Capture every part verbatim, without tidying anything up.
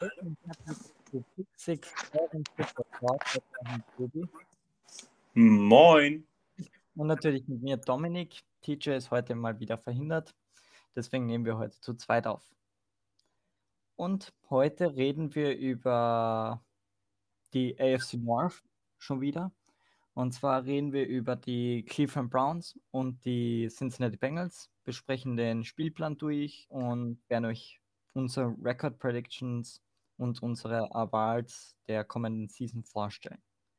Hallo und herzlich willkommen zu Pick sechs, eurem Football Talk mit eurem Tobi. Moin. Und natürlich mit mir Dominik. T J ist heute mal wieder verhindert, deswegen nehmen wir heute zu zweit auf. Und heute reden wir über die A F C North schon wieder. Und zwar reden wir über die Cleveland Browns und die Cincinnati Bengals, besprechen den Spielplan durch und werden euch unsere Record Predictions und unsere Awards der kommenden Season vorstellen.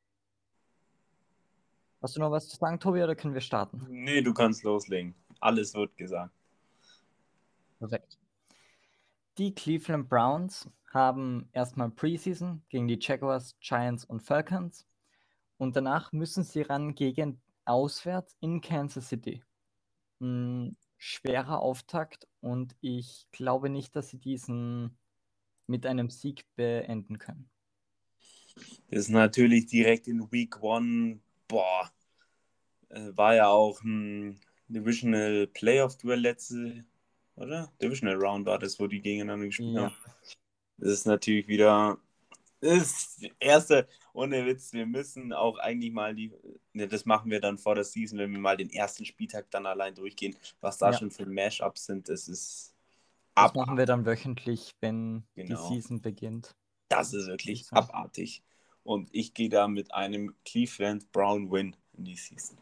Hast du noch was zu sagen, Tobi, oder können wir starten? Nee, du kannst loslegen. Alles wird gesagt. Perfekt. Die Cleveland Browns haben erstmal Preseason gegen die Jaguars, Giants und Falcons. Und danach müssen sie ran gegen auswärts in Kansas City. Ein schwerer Auftakt und ich glaube nicht, dass sie diesen mit einem Sieg beenden können. Das ist natürlich direkt in Week One. Boah, war ja auch ein Divisional Playoff-Duell letzte, oder? Divisional Round war das, wo die gegeneinander gespielt Ja. haben. Das ist natürlich wieder das erste, ohne Witz, wir müssen auch eigentlich mal die, ne, das machen wir dann vor der Season, wenn wir mal den ersten Spieltag dann allein durchgehen, was da Ja. schon für Mashups sind, das ist Das abartig. machen wir dann wöchentlich, wenn die Genau. Season beginnt. Das ist wirklich abartig. Und ich gehe da mit einem Cleveland Brown Win in die Season.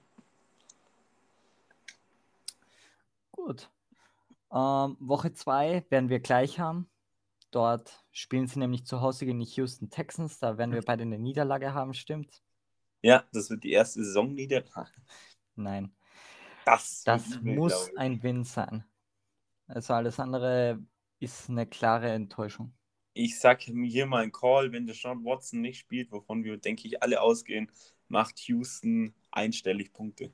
Gut. Ähm, Woche zwei werden wir gleich haben. Dort spielen sie nämlich zu Hause gegen die Houston Texans. Da werden wir beide eine Niederlage haben, stimmt? Ja, das wird die erste Saisonniederlage. Nein. Das, Das wird übel, muss glaube ich. ein Win sein. Also alles andere ist eine klare Enttäuschung. Ich sage hier mal einen Call, wenn der Sean Watson nicht spielt, wovon wir, denke ich, alle ausgehen, macht Houston einstellig Punkte.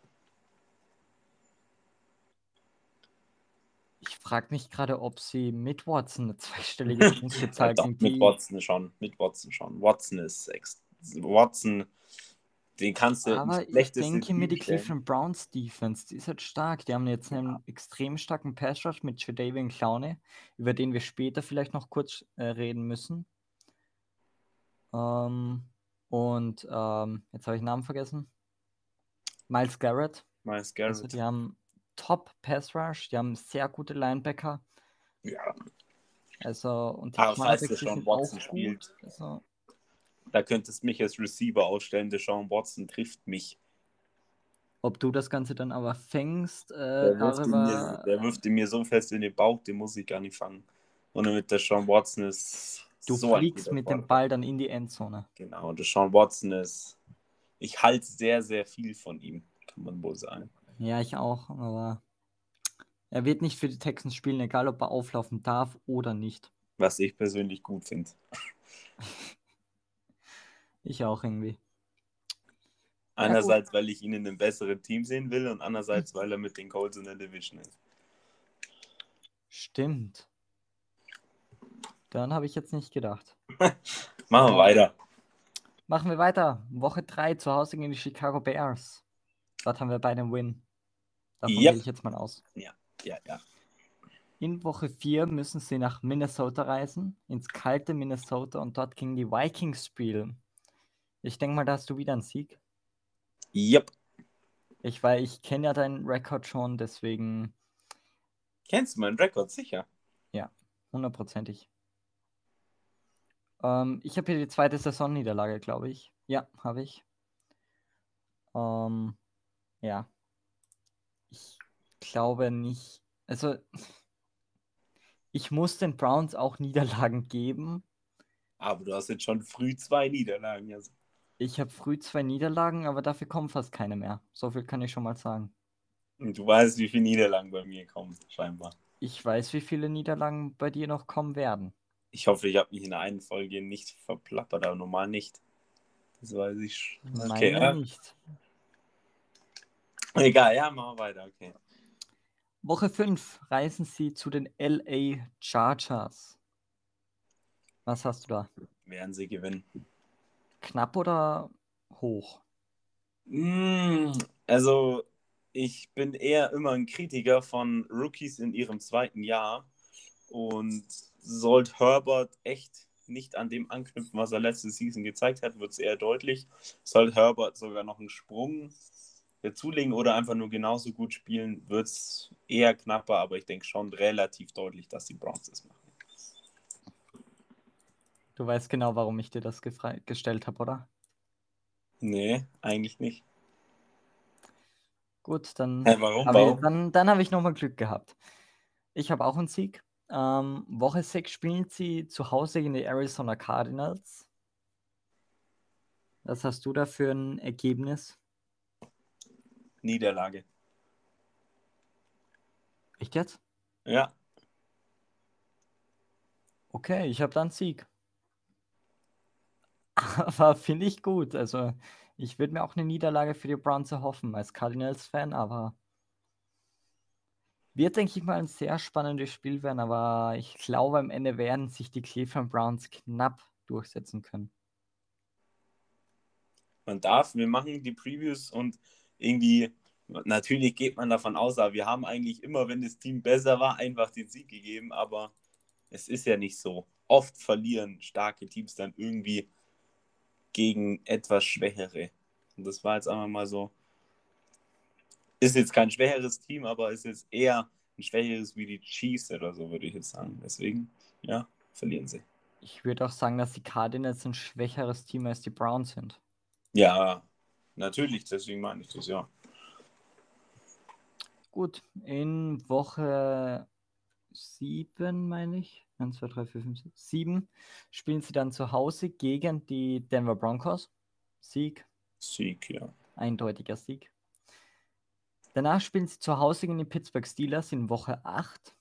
Ich frage mich gerade, ob sie mit Watson eine zweistellige Punktezahl Ja, doch, gegen mit die... Watson schon. Mit Watson schon. Watson ist ex Watson, den kannst du Aber ins ich schlechteste denke mir, Team die stellen. Cleveland Browns Defense, die ist halt stark. Die haben jetzt einen Ja. extrem starken Pass Rush mit Jadeveon Clowney, über den wir später vielleicht noch kurz äh, reden müssen. Ähm, und ähm, jetzt habe ich den Namen vergessen. Miles Garrett. Miles Garrett. Also die haben Top Pass Rush, die haben sehr gute Linebacker. Ja. Also, und die Aber falls der Cornerbacks, die Sean sind Watson auch spielt, gut. Also, da könntest du mich als Receiver ausstellen. Der Sean Watson trifft mich. ob du das Ganze dann aber fängst, äh, Der wirft, ihn mir, darüber. der wirft ihn mir so fest in den Bauch, den muss ich gar nicht fangen. Und mit der Sean Watson ist Du so ein fliegst guter mit dem Quarterback. Ball dann in die Endzone. Genau, der Sean Watson ist. Ich halte sehr, sehr viel von ihm, kann man wohl sagen. Ja, ich auch, aber er wird nicht für die Texans spielen, egal ob er auflaufen darf oder nicht. Was ich persönlich gut finde. Ich auch irgendwie. Einerseits, weil ich ihn in einem besseren Team sehen will und andererseits, weil er mit den Colts in der Division ist. Stimmt. Dann habe ich jetzt nicht gedacht. Machen wir weiter. Machen wir weiter. Woche drei zu Hause gegen die Chicago Bears. Dort haben wir beide einen Win. Davon Yep. gehe ich jetzt mal aus. Ja, ja, ja. In Woche vier müssen sie nach Minnesota reisen, ins kalte Minnesota und dort gegen die Vikings spielen. Ich denke mal, da hast du wieder einen Sieg. Yep. Ich, weil ich kenne ja deinen Rekord schon, deswegen. Kennst du meinen Rekord sicher? Ja, hundertprozentig. Ähm, ich habe hier die zweite Saisonniederlage, glaube ich. Ja, habe ich. Ähm, ja. Ich glaube nicht. Also, ich muss den Browns auch Niederlagen geben. Aber du hast jetzt schon früh zwei Niederlagen. Also. Ich habe früh zwei Niederlagen, aber dafür kommen fast keine mehr. So viel kann ich schon mal sagen. Und du weißt, wie viele Niederlagen bei mir kommen, scheinbar. Ich weiß, wie viele Niederlagen bei dir noch kommen werden. Ich hoffe, ich habe mich in der einen Folge nicht verplappert, aber normal nicht. Das weiß ich. Okay, Meine äh, nicht. Egal, ja, machen wir weiter, okay. Woche fünf reisen sie zu den L A Chargers. Was hast du da? Werden sie gewinnen. Knapp oder hoch? Mm, also, ich bin eher immer ein Kritiker von Rookies in ihrem zweiten Jahr. Und sollte Herbert echt nicht an dem anknüpfen, was er letzte Season gezeigt hat, wird es eher deutlich. Sollte Herbert sogar noch einen Sprung dazulegen oder einfach nur genauso gut spielen, wird es eher knapper, aber ich denke schon relativ deutlich, dass die Browns es machen. Du weißt genau, warum ich dir das gefra- gestellt habe, oder? Nee, eigentlich nicht. Gut, dann Hä, warum? habe ich, Warum? dann, dann habe ich nochmal Glück gehabt. Ich habe auch einen Sieg. Ähm, Woche sechs spielen sie zu Hause gegen die Arizona Cardinals. Was hast du da für ein Ergebnis? Niederlage. Echt jetzt? Ja. Okay, ich habe da einen Sieg. Aber finde ich gut. Also, ich würde mir auch eine Niederlage für die Browns erhoffen als Cardinals-Fan, aber wird, denke ich mal, ein sehr spannendes Spiel werden. Aber ich glaube, am Ende werden sich die Cleveland Browns knapp durchsetzen können. Man darf, wir machen die Previews und irgendwie, natürlich geht man davon aus, aber wir haben eigentlich immer, wenn das Team besser war, einfach den Sieg gegeben, aber es ist ja nicht so. Oft verlieren starke Teams dann irgendwie gegen etwas Schwächere. Und das war jetzt einfach mal so. Ist jetzt kein schwächeres Team, aber ist jetzt eher ein schwächeres wie die Chiefs oder so, würde ich jetzt sagen. Deswegen, ja, verlieren sie. Ich würde auch sagen, dass die Cardinals ein schwächeres Team als die Browns sind. Ja, natürlich, deswegen meine ich das, ja. Gut, in Woche sieben, meine ich, eins, zwei, drei, vier, fünf, sechs, sieben, spielen sie dann zu Hause gegen die Denver Broncos. Sieg, Sieg, ja. eindeutiger Sieg. Danach spielen sie zu Hause gegen die Pittsburgh Steelers in Woche acht.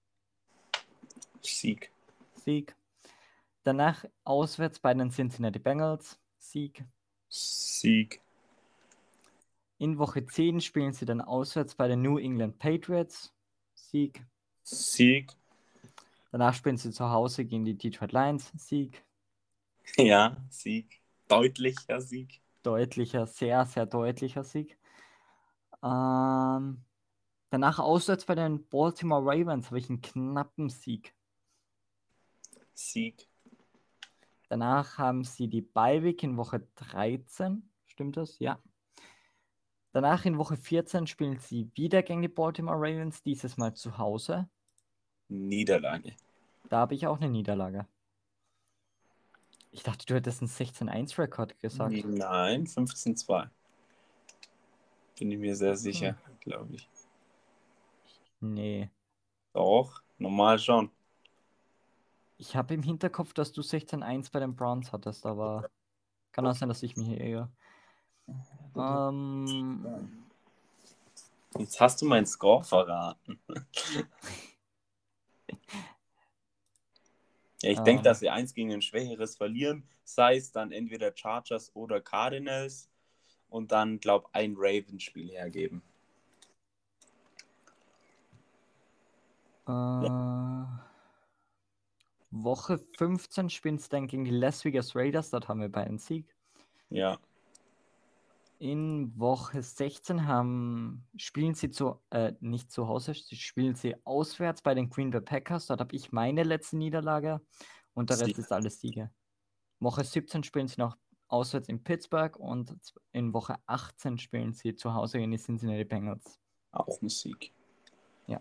Sieg. Sieg. Danach auswärts bei den Cincinnati Bengals. Sieg. Sieg. In Woche zehn spielen sie dann auswärts bei den New England Patriots. Sieg. Sieg. Danach spielen sie zu Hause gegen die Detroit Lions. Sieg. Ja, Sieg. Deutlicher Sieg. Deutlicher, sehr, sehr deutlicher Sieg. Ähm, danach auswärts bei den Baltimore Ravens habe ich einen knappen Sieg. Sieg. Danach haben sie die Bye-Week in Woche dreizehn. Stimmt das? Ja. Danach in Woche vierzehn spielen sie wieder gegen die Baltimore Ravens, dieses Mal zu Hause. Niederlage. Da habe ich auch eine Niederlage. Ich dachte, du hättest einen sechzehn eins Rekord gesagt. Nein, fünfzehn zwei. Bin ich mir sehr Okay. sicher, glaube ich. Nee. Doch, normal schon. Ich habe im Hinterkopf, dass du sechzehn eins bei den Browns hattest, aber kann auch sein, dass ich mich hier eher. Ähm, Jetzt hast du meinen Score verraten. Ja, ich ähm, denke, dass sie eins gegen ein schwächeres verlieren, sei es dann entweder Chargers oder Cardinals und dann, glaube ich, ein Ravens-Spiel hergeben. äh, Woche fünfzehn spielen sie dann gegen die Las Vegas Raiders, dort haben wir beide einen Sieg. Ja. In Woche sechzehn haben, spielen sie zu, äh, nicht zu Hause, sie spielen sie auswärts bei den Green Bay Packers. Dort habe ich meine letzte Niederlage und der Rest Sieg. ist alles Siege. Woche siebzehn spielen sie noch auswärts in Pittsburgh und in Woche achtzehn spielen sie zu Hause gegen die Cincinnati Bengals. Auch ein Sieg. Ja.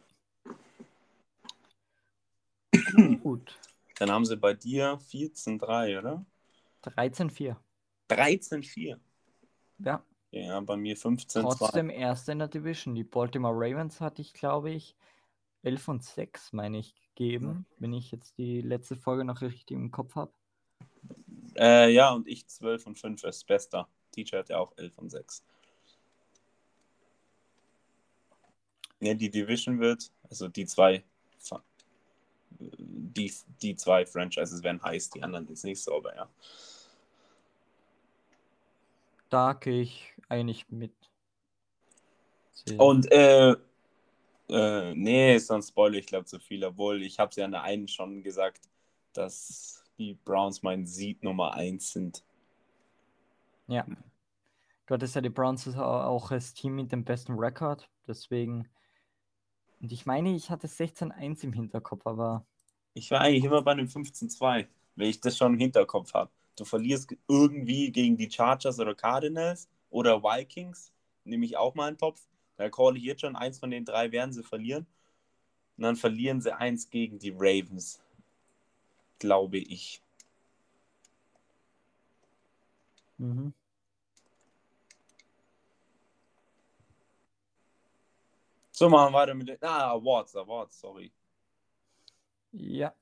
Gut. Dann haben sie bei dir vierzehn drei, oder? dreizehn vier. dreizehn vier. Ja. Ja, bei mir fünfzehn zwei. Trotzdem erster in der Division. Die Baltimore Ravens hatte ich, glaube ich, elf und sechs, meine ich, gegeben, wenn ich jetzt die letzte Folge noch richtig im Kopf habe. Äh, ja, und ich zwölf und fünf ist bester. Teacher hat ja auch elf und sechs. Ne, die Division wird, also die zwei, die, die zwei Franchises werden heiß, die anderen jetzt nicht so, aber ja. Da gehe ich eigentlich mit. Sehr. Und, äh, äh, nee, sonst spoilere ich glaube zu viel, obwohl ich habe es ja an der einen schon gesagt, dass die Browns mein Seed Nummer eins sind. Ja. Du hattest ja die Browns auch als Team mit dem besten Rekord, deswegen. Und ich meine, ich hatte sechzehn eins im Hinterkopf, aber Ich war eigentlich immer bei einem fünfzehn zwei, weil ich das schon im Hinterkopf habe. Du verlierst irgendwie gegen die Chargers oder Cardinals oder Vikings, nehme ich auch mal einen Topf. Da call ich jetzt schon, eins von den drei werden sie verlieren. Und dann verlieren sie eins gegen die Ravens, glaube ich. Mhm. So, machen wir weiter mit den... Ah, Awards, Awards, sorry. Ja.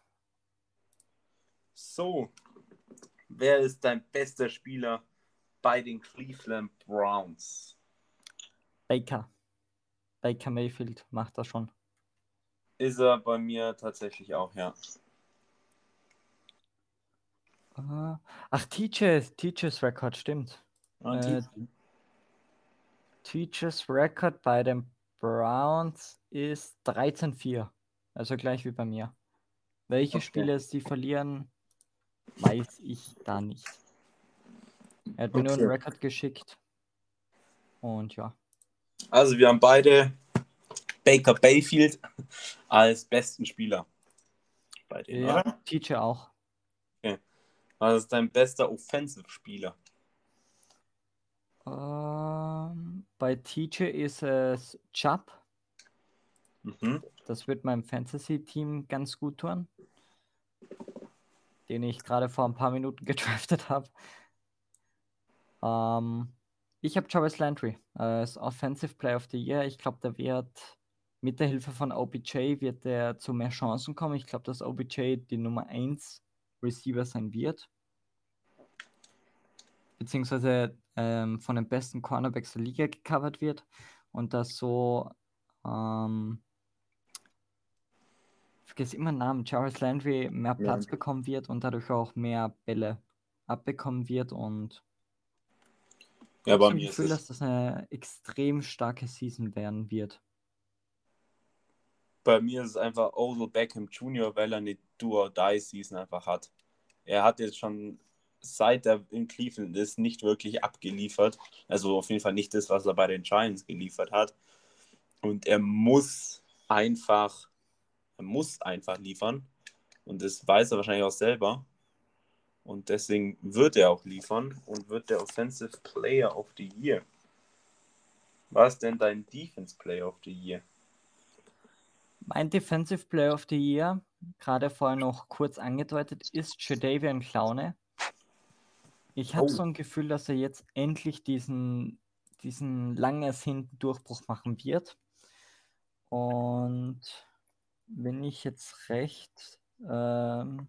So, wer ist dein bester Spieler bei den Cleveland Browns? Baker. Baker Mayfield macht das schon. Ist er bei mir tatsächlich auch, ja. Ah, Ach, T J, T Js Record, stimmt. Und Äh, T Js Record bei den Browns ist dreizehn vier. Also gleich wie bei mir. Welche Okay. Spiele sie verlieren, weiß ich da nicht. Er hat mir nur einen Okay. Record geschickt. Und ja. Also wir haben beide Baker Mayfield als besten Spieler bei denen, Ja, oder? T J auch. Okay. Was ist dein bester Offensive-Spieler? Ähm, bei T J ist es Chubb. Mhm. Das wird meinem Fantasy-Team ganz gut tun. Den ich gerade vor ein paar Minuten gedraftet habe. Ähm, ich habe Jarvis Landry als Offensive Player of the Year. Ich glaube, der wird mit der Hilfe von O B J wird der zu mehr Chancen kommen. Ich glaube, dass O B J die Nummer eins Receiver sein wird. Beziehungsweise ähm, von den besten Cornerbacks der Liga gecovert wird. Und dass so, ähm, ich vergesse immer den Namen, Jarvis Landry mehr Platz Ja. bekommen wird und dadurch auch mehr Bälle abbekommen wird. Und ich Ja, habe bei so ein mir ist Gefühl, es dass das eine extrem starke Season werden wird. bei mir ist es einfach Odell Beckham Junior, weil er eine Do-or-Die-Season einfach hat. Er hat jetzt schon, seit er in Cleveland ist, nicht wirklich abgeliefert. Also auf jeden Fall nicht das, was er bei den Giants geliefert hat. Und er muss einfach, er muss einfach liefern. Und das weiß er wahrscheinlich auch selber. Und deswegen wird er auch liefern und wird der Offensive Player of the Year. Was ist denn dein Defense Player of the Year? Mein Defensive Player of the Year, gerade vorher noch kurz angedeutet, ist Jadeveon Clowney. Ich habe Oh. so ein Gefühl, dass er jetzt endlich diesen, diesen lang ersehnten Durchbruch machen wird. Und wenn ich jetzt recht, ähm,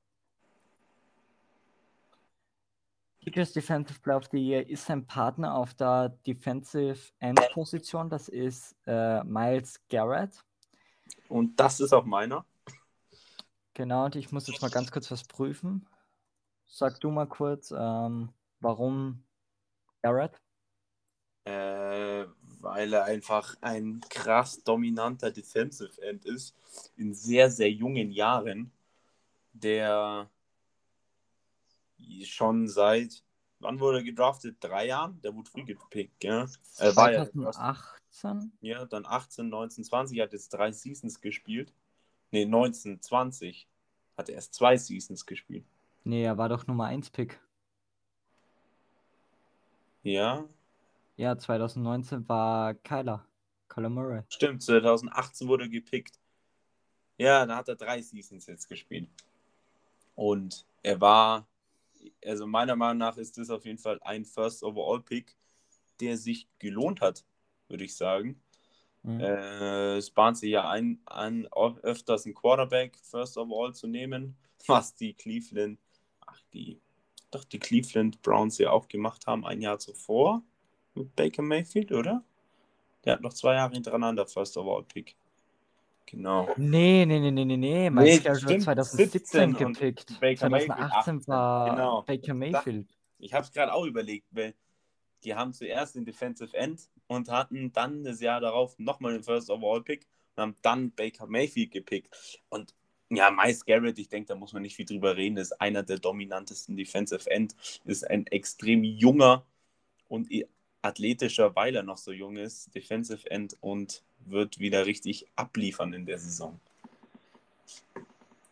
T Js Defensive Player of the Year ist sein Partner auf der Defensive End Position, das ist äh, Myles Garrett. Und das ist auch meiner. Genau, und ich muss jetzt mal ganz kurz was prüfen. Sag du mal kurz, ähm, warum Garrett? Äh, weil er einfach ein krass dominanter Defensive End ist. In sehr, sehr jungen Jahren. Der schon seit, wann wurde er gedraftet? Drei Jahren? Der wurde früh gepickt, ja. Er war ja der First. zweitausendachtzehn? Ja, dann achtzehn, neunzehn, zwanzig, hat jetzt drei Seasons gespielt. Ne, neunzehn, zwanzig hat er erst zwei Seasons gespielt. Nee, er war doch Nummer eins Pick. Ja, Ja, zweitausendneunzehn war Kyler. Kyler Murray. stimmt, zwanzig achtzehn wurde er gepickt. Ja, da hat er drei Seasons jetzt gespielt. Und er war, also meiner Meinung nach ist das auf jeden Fall ein First Overall Pick, der sich gelohnt hat, würde ich sagen. Mhm. Äh, es bahnt sich ja ein, an, öfters einen Quarterback First Overall zu nehmen, was die Cleveland, ach die, doch die Cleveland Browns ja auch gemacht haben, ein Jahr zuvor mit Baker Mayfield, oder? Der hat noch zwei Jahre hintereinander First Overall Pick. Genau. Nee, nee, nee, nee, nee, nee. Miles Nee, Garrett wurde stimmt, zweitausendsiebzehn siebzehn und gepickt. Baker Mayfield zweitausendachtzehn achtzehn. war Genau. Baker Ich, dachte, Mayfield. ich habe es gerade auch überlegt, weil die haben zuerst den Defensive End und hatten dann das Jahr darauf nochmal den First Overall Pick und haben dann Baker Mayfield gepickt. Und ja, Myles Garrett, ich denke, da muss man nicht viel drüber reden, ist einer der dominantesten Defensive End, ist ein extrem junger und athletischer, weil er noch so jung ist, Defensive End und wird wieder richtig abliefern in der Saison.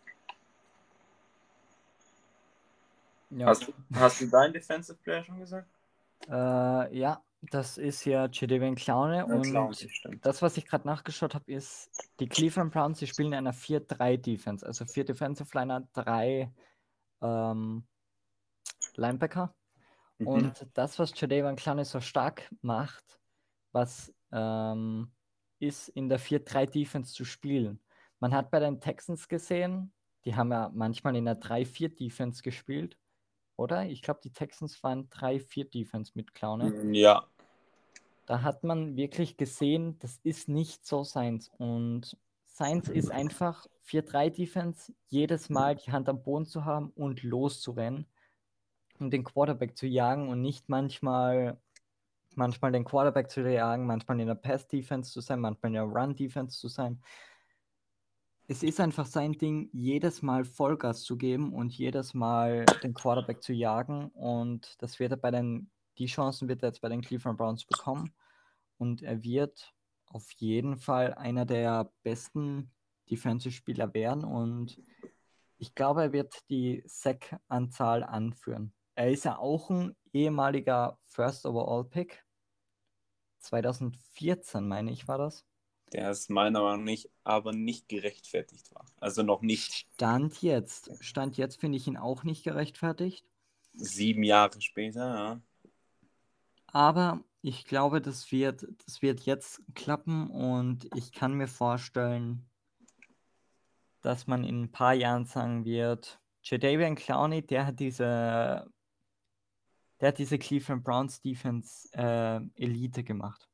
Ja. Hast, hast du deinen Defensive Player schon gesagt? Äh, ja, das ist ja Jadeveon Clowney Ja, Clown, und stimmt. das, was ich gerade nachgeschaut habe, ist, die Cleveland Browns, die spielen in einer vier drei Defense, also vier Defensive Liner, drei ähm, Linebacker. Mhm. Und das, was Jadeveon Clowney so stark macht, was ähm, ist, in der vier drei Defense zu spielen. Man hat bei den Texans gesehen, die haben ja manchmal in der drei vier Defense gespielt, oder? Ich glaube, die Texans waren drei vier Defense mit Clowney. Ja, Da hat man wirklich gesehen, das ist nicht so seins. Und seins ist einfach vier drei Defense, jedes Mal die Hand am Boden zu haben und loszurennen und den Quarterback zu jagen und nicht manchmal, manchmal den Quarterback zu jagen, manchmal in der Pass-Defense zu sein, manchmal in der Run-Defense zu sein. Es ist einfach sein Ding, jedes Mal Vollgas zu geben und jedes Mal den Quarterback zu jagen. Und das wird er bei den, die Chancen wird er jetzt bei den Cleveland Browns bekommen. Und er wird auf jeden Fall einer der besten Defensive-Spieler werden. Und ich glaube, er wird die Sack-Anzahl anführen. Er ist ja auch ein ehemaliger First Overall Pick. zwanzig vierzehn, meine ich, war das. der ist meiner Meinung nach aber nicht gerechtfertigt war. Also noch nicht. Stand jetzt. Stand jetzt finde ich ihn auch nicht gerechtfertigt. Sieben Jahre später, ja. Aber ich glaube, das wird, das wird jetzt klappen und ich kann mir vorstellen, dass man in ein paar Jahren sagen wird, Jadeveon Clowney, der hat diese, der hat diese Cleveland Browns Defense äh, Elite gemacht.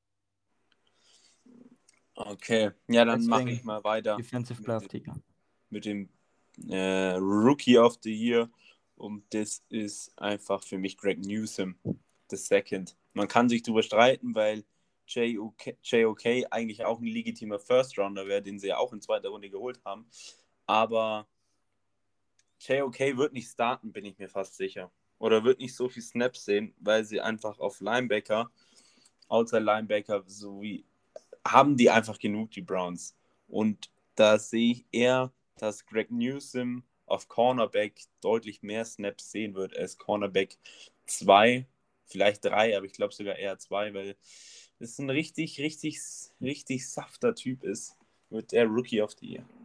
Okay, ja, dann mache Deswegen ich mal weiter Defensive Player of mit, the Year. mit dem äh, Rookie of the Year. Und das ist einfach für mich Greg Newsome, the second. Man kann sich darüber streiten, weil J O K eigentlich auch ein legitimer First-Rounder wäre, den sie ja auch in zweiter Runde geholt haben. Aber J O K wird nicht starten, bin ich mir fast sicher. Oder wird nicht so viel Snaps sehen, weil sie einfach auf Linebacker, Outside Linebacker, so wie haben die einfach genug, die Browns. Und da sehe ich eher, dass Greg Newsome auf Cornerback deutlich mehr Snaps sehen wird als Cornerback zwei, vielleicht drei, aber ich glaube sogar eher zwei, weil das ein richtig, richtig, richtig safter Typ ist, wird der Rookie of the Year.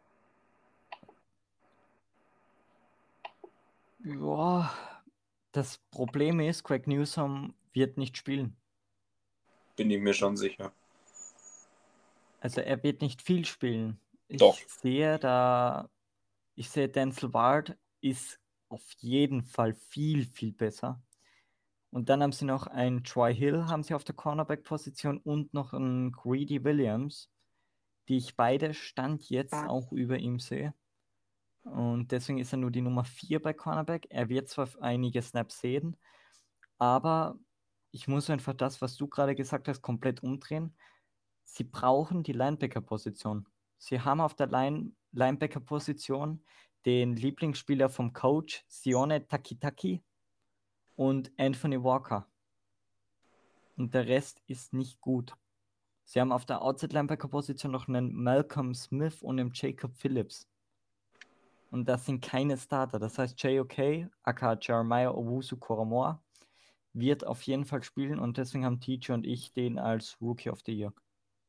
Ja, das Problem ist, Greg Newsome wird nicht spielen. Bin ich mir schon sicher. Also er wird nicht viel spielen. Doch. Ich sehe da, ich sehe Denzel Ward ist auf jeden Fall viel, viel besser. Und dann haben sie noch einen Troy Hill, haben sie auf der Cornerback-Position und noch einen Greedy Williams, die ich beide Stand jetzt auch über ihm sehe. Und deswegen ist er nur die Nummer vier bei Cornerback. Er wird zwar einige Snaps sehen, aber ich muss einfach das, was du gerade gesagt hast, komplett umdrehen. Sie brauchen die Linebacker-Position. Sie haben auf der Line Linebacker-Position den Lieblingsspieler vom Coach, Sione Takitaki und Anthony Walker. Und der Rest ist nicht gut. Sie haben auf der Outside-Linebacker-Position noch einen Malcolm Smith und einen Jacob Phillips. Und das sind keine Starter. Das heißt, J O K, aka Jeremiah Owusu-Koramoah, wird auf jeden Fall spielen und deswegen haben T J und ich den als Rookie of the Year.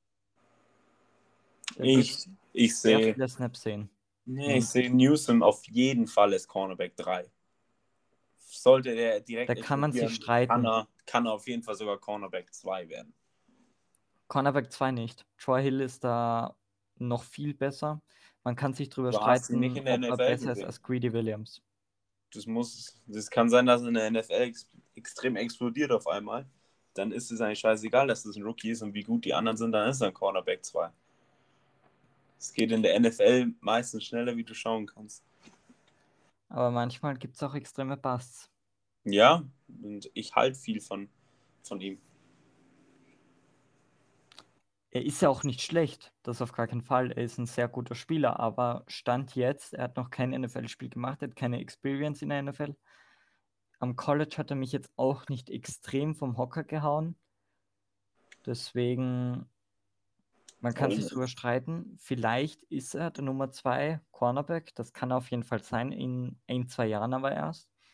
Der Ich, ich sehr sehe viele Snaps sehen. nee, ich Und seh Newsome auf jeden Fall als Cornerback drei. Sollte der direkt da kann man sich streiten. kann er, kann er auf jeden Fall sogar Cornerback zwei werden. Cornerback zwei nicht. Troy Hill ist da noch viel besser. Man kann sich darüber Du hast ihn nicht streiten, in der ob er N F L besser ist gesehen. als Greedy Williams. Das muss, das kann sein, dass er in der N F L ex extrem explodiert auf einmal. Dann ist es eigentlich scheißegal, dass das ein Rookie ist und wie gut die anderen sind, dann ist er ein Cornerback zwei. Es geht in der N F L meistens schneller, wie du schauen kannst. Aber manchmal gibt es auch extreme Busts. Ja, und ich halte viel von, von ihm. Er ist ja auch nicht schlecht, das auf gar keinen Fall. Er ist ein sehr guter Spieler, aber Stand jetzt, er hat noch kein N F L-Spiel gemacht, er hat keine Experience in der N F L. Am College hat er mich jetzt auch nicht extrem vom Hocker gehauen. Deswegen, man kann sich drüber streiten. Vielleicht ist er der Nummer zwei Cornerback. Das kann er auf jeden Fall sein, in ein, zwei Jahren aber erst.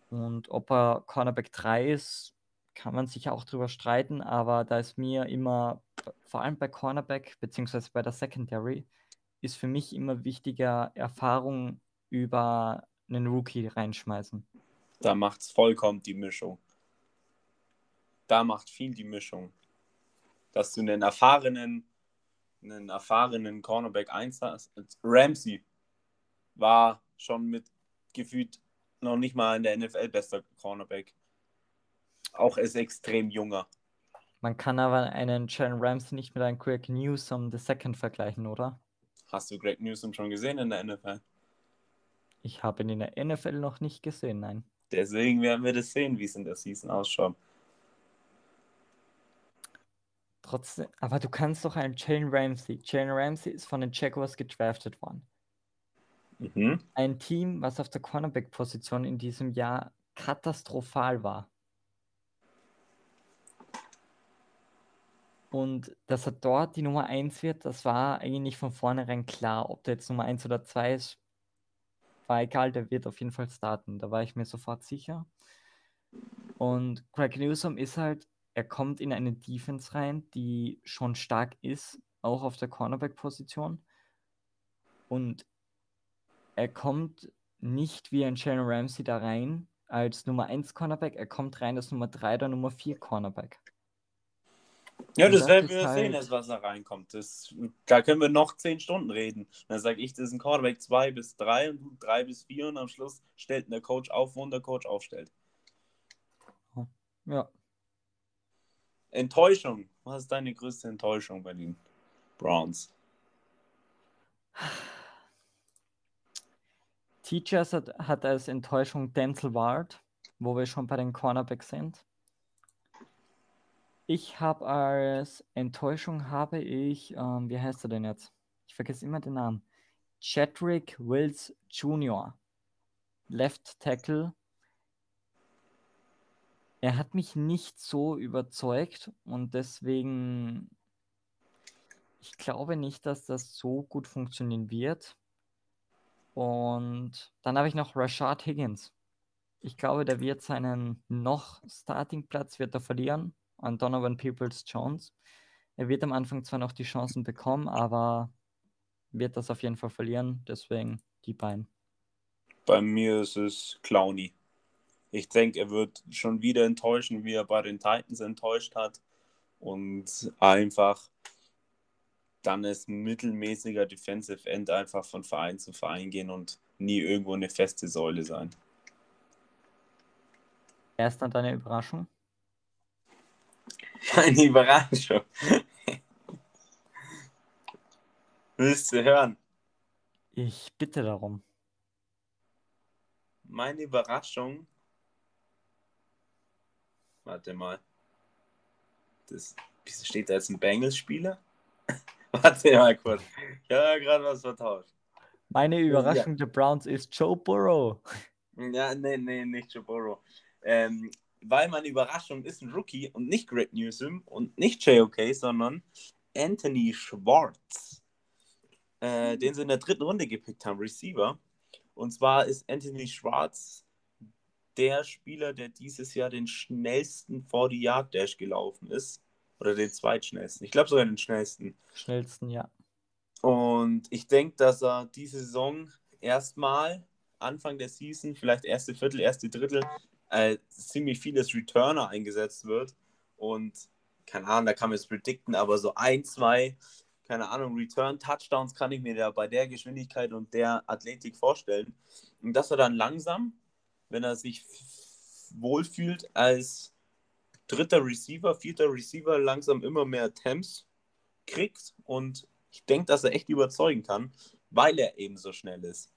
Und ob er Cornerback drei ist, kann man sich auch drüber streiten, aber da ist mir immer, vor allem bei Cornerback, beziehungsweise bei der Secondary, ist für mich immer wichtiger, Erfahrung über einen Rookie reinschmeißen. Da macht es vollkommen die Mischung. Da macht viel die Mischung. Dass du einen erfahrenen, einen erfahrenen Cornerback eins hast. Ramsey war schon mit gefühlt noch nicht mal in der N F L bester Cornerback. Auch ist extrem junger. Man kann aber einen Jalen Ramsey nicht mit einem Greg Newsome the Second vergleichen, oder? Hast du Greg Newsome schon gesehen in der N F L? Ich habe ihn in der N F L noch nicht gesehen, nein. Deswegen werden wir das sehen, wie es in der Season ausschaut. Trotzdem, aber du kannst doch einen Jalen Ramsey. Jalen Ramsey ist von den Jaguars gedraftet worden. Mhm. Ein Team, was auf der Cornerback-Position in diesem Jahr katastrophal war. Und dass er dort die Nummer eins wird, das war eigentlich von vornherein klar. Ob der jetzt Nummer eins oder zwei ist, war egal, der wird auf jeden Fall starten. Da war ich mir sofort sicher. Und Greg Newsome ist halt, er kommt in eine Defense rein, die schon stark ist, auch auf der Cornerback-Position. Und er kommt nicht wie ein Jalen Ramsey da rein als Nummer eins Cornerback, er kommt rein als Nummer drei oder Nummer vier Cornerback. Ja, Und das das werden ist wir sehen, halt, als was da reinkommt. Das, da können wir noch zehn Stunden reden. Dann sage ich, das ist ein Quarterback zwei bis drei und du drei bis vier und am Schluss stellt der Coach auf, wo der Coach aufstellt. ja. Enttäuschung. Was ist deine größte Enttäuschung bei den Browns? Teachers hat, hat als Enttäuschung Denzel Ward, wo wir schon bei den Cornerbacks sind. Ich habe als Enttäuschung habe ich, ähm, wie heißt er denn jetzt? Ich vergesse immer den Namen. Chadwick Wills Junior Left Tackle. Er hat mich nicht so überzeugt und deswegen, ich glaube nicht, dass das so gut funktionieren wird. Und dann habe ich noch Rashad Higgins. Ich glaube, der wird seinen noch Startingplatz wird er verlieren an Donovan Peoples-Jones. Er wird am Anfang zwar noch die Chancen bekommen, aber wird das auf jeden Fall verlieren. Deswegen die beiden. Bei mir ist es Clowney. Ich denke, er wird schon wieder enttäuschen, wie er bei den Titans enttäuscht hat. Und einfach dann als mittelmäßiger Defensive End einfach von Verein zu Verein gehen und nie irgendwo eine feste Säule sein. Wer ist dann deine Überraschung? Eine Überraschung. Willst du hören? Ich bitte darum. Meine Überraschung. Warte mal. Das, wieso steht da jetzt ein Bengals-Spieler? Warte mal kurz. Ich habe ja gerade was vertauscht. Meine Überraschung ja. der Browns ist Joe Burrow. Ja, nee, nee, nicht Joe Burrow. Ähm, weil meine Überraschung ist ein Rookie und nicht Greg Newsome und nicht J O K, sondern Anthony Schwartz. Äh, den sie in der dritten Runde gepickt haben, Receiver. Und zwar ist Anthony Schwartz der Spieler, der dieses Jahr den schnellsten forty Yard Dash gelaufen ist. Oder den zweitschnellsten. Ich glaube sogar den schnellsten. Schnellsten, ja. Und ich denke, dass er diese Saison erstmal Anfang der Season, vielleicht erste Viertel, erste Drittel, äh, ziemlich vieles Returner eingesetzt wird. Und keine Ahnung, da kann man es predikten, aber so ein, zwei, keine Ahnung, Return-Touchdowns kann ich mir da bei der Geschwindigkeit und der Athletik vorstellen. Und dass er dann langsam, wenn er sich wohlfühlt, als dritter Receiver, vierter Receiver langsam immer mehr Attempts kriegt und ich denke, dass er echt überzeugen kann, weil er eben so schnell ist.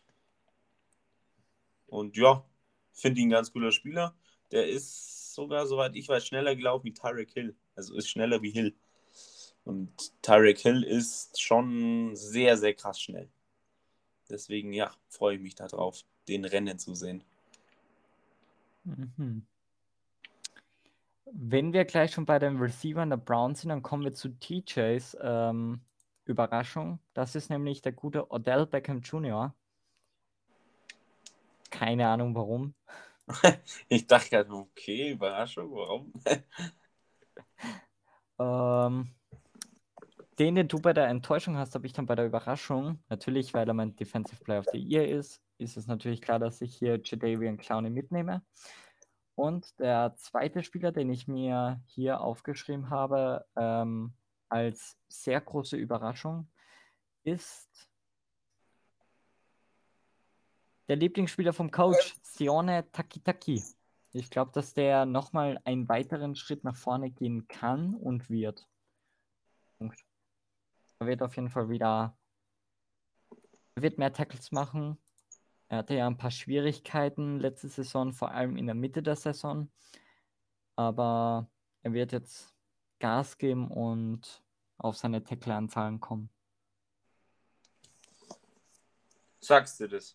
Und ja, finde ihn ein ganz cooler Spieler. Der ist sogar, soweit ich weiß, schneller gelaufen wie Tyreek Hill. Also ist schneller wie Hill. Und Tyreek Hill ist schon sehr, sehr krass schnell. Deswegen, ja, freue ich mich darauf, den Rennen zu sehen. Mhm. Wenn wir gleich schon bei den Receivern der Browns sind, dann kommen wir zu T Js ähm, Überraschung. Das ist nämlich der gute Odell Beckham Junior Keine Ahnung warum. Ich dachte gerade, okay, Überraschung, warum? Ähm, den, den du bei der Enttäuschung hast, habe ich dann bei der Überraschung. Natürlich, weil er mein Defensive Player of the Year ist, ist es natürlich klar, dass ich hier Jadeveon Clowney mitnehme. Und der zweite Spieler, den ich mir hier aufgeschrieben habe, ähm, als sehr große Überraschung, ist der Lieblingsspieler vom Coach, Sione Takitaki. Ich glaube, dass der nochmal einen weiteren Schritt nach vorne gehen kann und wird. Punkt. Er wird auf jeden Fall wieder, er wird mehr Tackles machen. Er hatte ja ein paar Schwierigkeiten letzte Saison, vor allem in der Mitte der Saison. Aber er wird jetzt Gas geben und auf seine Tackle-Anzahlen kommen. Sagst du das?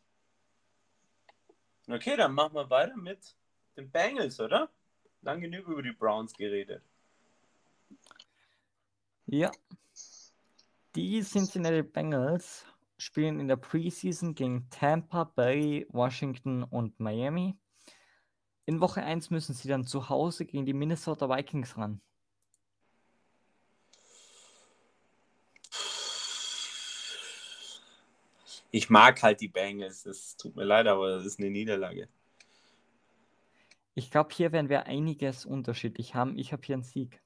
Okay, dann machen wir weiter mit den Bengals, oder? Lang genug über die Browns geredet. Ja. Die Cincinnati Bengals spielen in der Preseason gegen Tampa Bay, Washington und Miami. In Woche eins müssen sie dann zu Hause gegen die Minnesota Vikings ran. Ich mag halt die Bengals. Es tut mir leid, aber das ist eine Niederlage. Ich glaube, hier werden wir einiges unterschiedlich haben. Ich habe hier einen Sieg.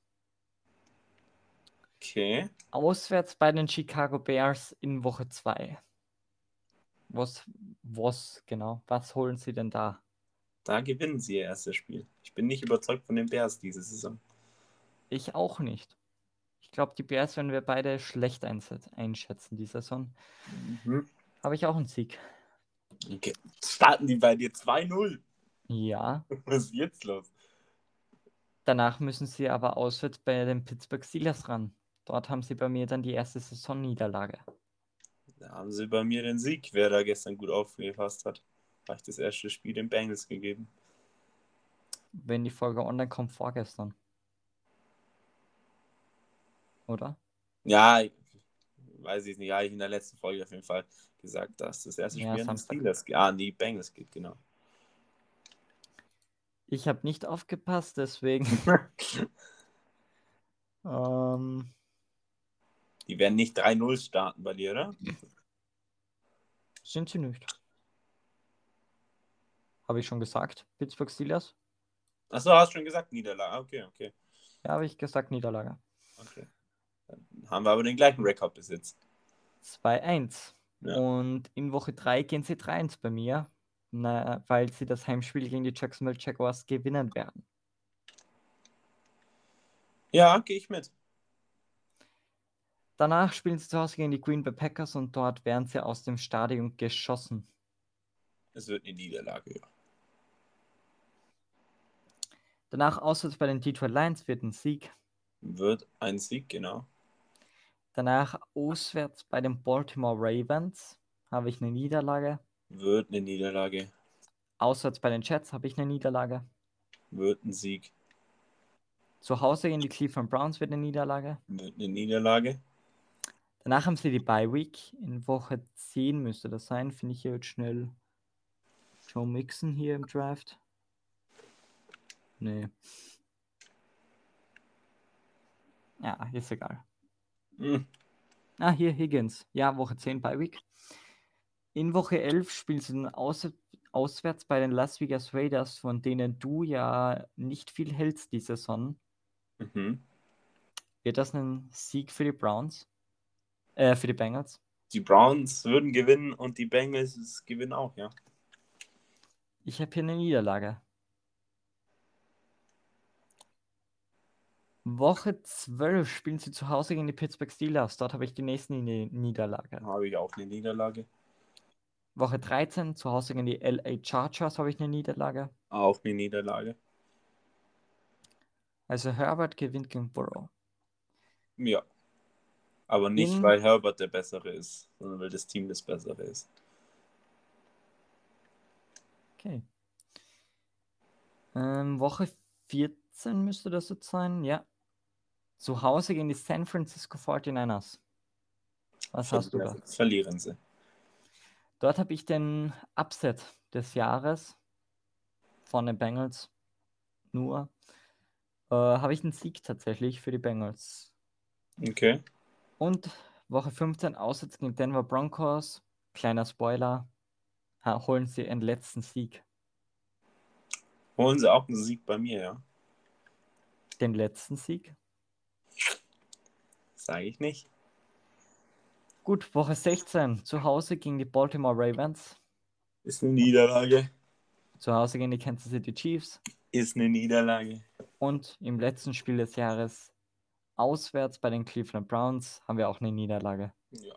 Okay. Auswärts bei den Chicago Bears in Woche zwei. Was, was, genau, was holen sie denn da? Da gewinnen sie ihr erstes Spiel. Ich bin nicht überzeugt von den Bears diese Saison. Ich auch nicht. Ich glaube, die Bears werden wir beide schlecht einschätzen, die Saison. Mhm. Habe ich auch einen Sieg. Okay. Starten die bei dir zwei null? Ja. Was ist jetzt los? Danach müssen sie aber auswärts bei den Pittsburgh Steelers ran. Dort haben sie bei mir dann die erste Saisonniederlage. Da haben sie bei mir den Sieg, wer da gestern gut aufgefasst hat. Habe ich das erste Spiel den Bengals gegeben. Wenn die Folge online kommt, vorgestern. Oder? Ja, weiß ich nicht. Ja, ich in der letzten Folge auf jeden Fall gesagt, dass das erste Ja, Spiel an die Samstag. Steelers geht. Ah, an die Bengals geht, genau. Ich habe nicht aufgepasst, deswegen. ähm, Die werden nicht drei null starten bei dir, oder? sind sie nicht. Habe ich schon gesagt, Pittsburgh Steelers? Achso, hast schon gesagt, Niederlage. Okay, okay. Ja, habe ich gesagt, Niederlage. Okay. Dann haben wir aber den gleichen Rekord bis jetzt. zwei eins. Ja. Und in Woche drei gehen sie drei eins bei mir, na, weil sie das Heimspiel gegen die Jacksonville Jaguars gewinnen werden. Ja, gehe ich mit. Danach spielen sie zu Hause gegen die Green Bay Packers und dort werden sie aus dem Stadion geschossen. Es wird eine Niederlage, ja. Danach auswärts bei den Detroit Lions wird ein Sieg. Wird ein Sieg, genau. Danach auswärts bei den Baltimore Ravens habe ich eine Niederlage. Wird eine Niederlage. Auswärts bei den Jets habe ich eine Niederlage. Wird ein Sieg. Zu Hause gegen die Cleveland Browns wird eine Niederlage. Wird eine Niederlage. Danach haben sie die Bye Week. In Woche zehn müsste das sein. Finde ich hier jetzt schnell Joe Mixon hier im Draft. Nee. Ja, ist egal. Hm. Ah, hier Higgins. Ja, Woche zehn Bye Week. In Woche elf spielst du aus, auswärts bei den Las Vegas Raiders, von denen du ja nicht viel hältst die Saison. Mhm. Wird das ein Sieg für die Browns? Äh, für die Bengals? Die Browns würden gewinnen und die Bengals gewinnen auch, ja. Ich habe hier eine Niederlage. Woche zwölf spielen sie zu Hause gegen die Pittsburgh Steelers. Dort habe ich die nächste Niederlage. Habe ich auch eine Niederlage. Woche dreizehn zu Hause gegen die L A Chargers habe ich eine Niederlage. Auch eine Niederlage. Also Herbert gewinnt gegen Burrow. Ja. Aber nicht, In, weil Herbert der Bessere ist, sondern weil das Team das Bessere ist. Okay. Ähm, Woche vierzehn müsste das jetzt sein, ja. Zu Hause gegen die San Francisco forty-niners. Was Ver hast du da? Verlieren sie. Dort habe ich den Upset des Jahres. von den Bengals nur, äh, habe ich einen Sieg tatsächlich für die Bengals. Okay. Und Woche fünfzehn auswärts gegen Denver Broncos. Kleiner Spoiler, ha- holen sie ihren letzten Sieg. Holen sie auch einen Sieg bei mir, ja? Den letzten Sieg. Sage ich nicht. Gut, Woche sechzehn, zu Hause gegen die Baltimore Ravens. Ist eine Niederlage. Zu Hause gegen die Kansas City Chiefs. Ist eine Niederlage. Und im letzten Spiel des Jahres auswärts bei den Cleveland Browns haben wir auch eine Niederlage. Ja.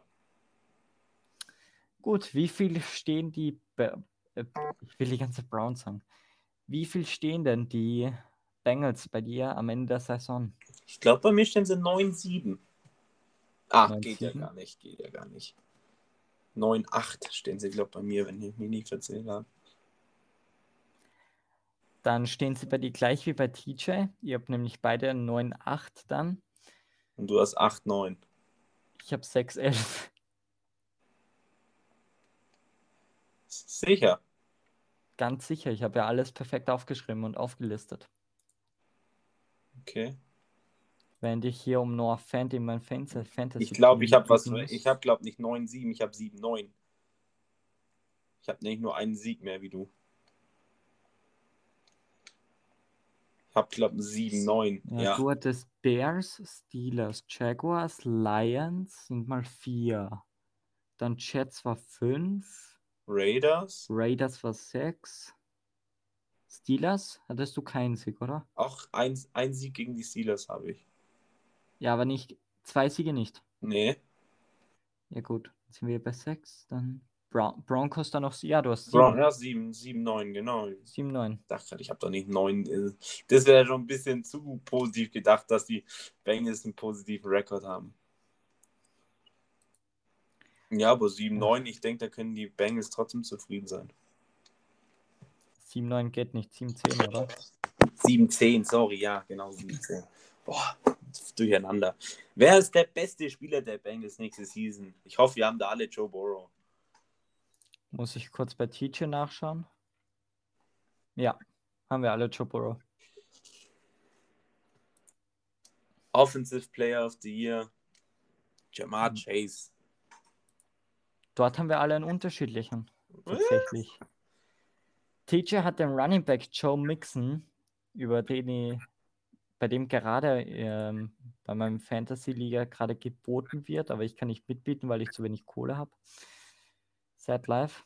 Gut, wie viel stehen die, Be- äh, ich will die ganze Browns sagen, wie viel stehen denn die Bengals bei dir am Ende der Saison? Ich glaube, bei mir stehen sie neun sieben. Ah, neun geht ja sieben? gar nicht, geht ja gar nicht. neun acht stehen sie, glaube ich, bei mir, wenn ich mich nicht verzählt habe. Dann stehen sie bei dir gleich wie bei T J. Ihr habt nämlich beide neun acht dann. Und du hast acht neun. Ich habe sechs elf. Sicher. Ganz sicher, ich habe ja alles perfekt aufgeschrieben und aufgelistet. Okay. Während ich hier um Noah Fant in mein Fantasy Fantasy Ich glaube, ich habe was. mitbieten muss. Ich habe, glaube nicht neun sieben, ich habe sieben neun. Ich habe nicht nur einen Sieg mehr wie du. Ich habe, glaube sieben neun. Ja, Ja. du hattest Bears, Steelers, Jaguars, Lions sind mal vier. Dann Jets war fünf. Raiders. Raiders war sechs. Steelers hattest du keinen Sieg, oder? Auch ein, ein Sieg gegen die Steelers habe ich. Ja, aber nicht, zwei Siege nicht. Nee. Ja gut, jetzt sind wir bei sechs. Dann Bron Broncos dann noch, ja, du hast Brown, sieben. ja, sieben, sieben, neun, genau. sieben neun. Ich dachte, ich habe doch nicht neun. Das wäre schon ein bisschen zu positiv gedacht, dass die Bengals einen positiven Rekord haben. Ja, aber sieben neun, ich denke, da können die Bengals trotzdem zufrieden sein. sieben neun geht nicht, sieben zehn, oder? sieben zehn, sorry, ja, genau, sieben zehn. Boah, durcheinander. Wer ist der beste Spieler der Bengals nächste Season? Ich hoffe, wir haben da alle Joe Burrow. Muss ich kurz bei T J nachschauen? Ja, haben wir alle Joe Burrow. Offensive Player of the Year, Jamar Mhm. Chase. Dort haben wir alle einen unterschiedlichen, tatsächlich. T J hat den Running Back Joe Mixon, über den ich, bei dem gerade ähm, bei meinem Fantasy-Liga gerade geboten wird, aber ich kann nicht mitbieten, weil ich zu wenig Kohle habe. Sad life.